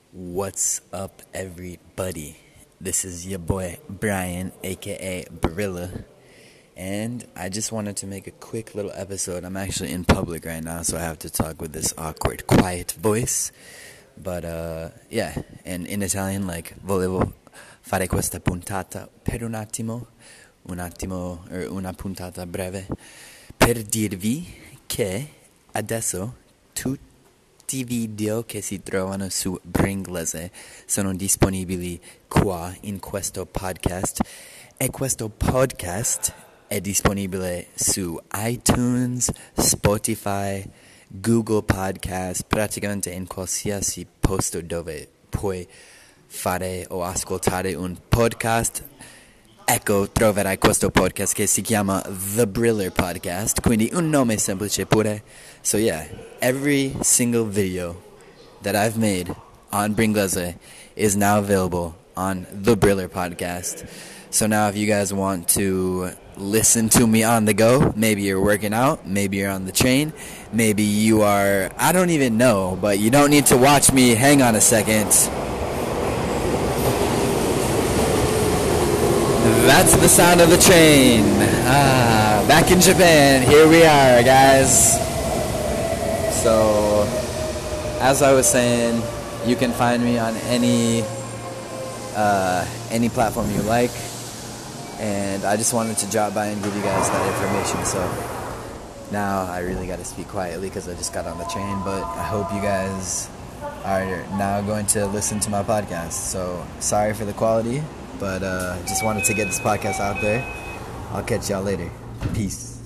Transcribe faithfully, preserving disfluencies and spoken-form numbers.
What's up, everybody? This is your boy Brian, aka Barilla, and I just wanted to make a quick little episode. I'm actually in public right now, so I have to talk with this awkward, quiet voice. But uh, yeah, and in Italian, like volevo fare questa puntata per un attimo, un attimo, or una puntata breve, per dirvi che adesso tutti i video che si trovano su Bringlese sono disponibili qua in questo podcast e questo podcast è disponibile su iTunes, Spotify, Google Podcast, praticamente in qualsiasi posto dove puoi fare o ascoltare un podcast. Ecco, troverai questo podcast che si chiama The Briller Podcast, quindi un nome semplice pure. So yeah, every single video that I've made on Bringlese is now available on The Briller Podcast. So now if you guys want to listen to me on the go, maybe you're working out, maybe you're on the train, maybe you are, I don't even know, but you don't need to watch me. Hang on a second. That's the sound of the train. Ah, back in Japan, here we are, guys. So, as I was saying, you can find me on any uh, any platform you like, and I just wanted to drop by and give you guys that information. So now I really got to speak quietly because I just got on the train, but I hope you guys are now going to listen to my podcast. So sorry for the quality, but uh, just wanted to get this podcast out there. I'll catch y'all later. Peace.